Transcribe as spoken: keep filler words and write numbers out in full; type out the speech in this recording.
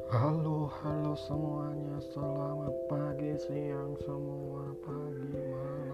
Halo, halo semuanya. Selamat pagi, siang, semua pagi, malam.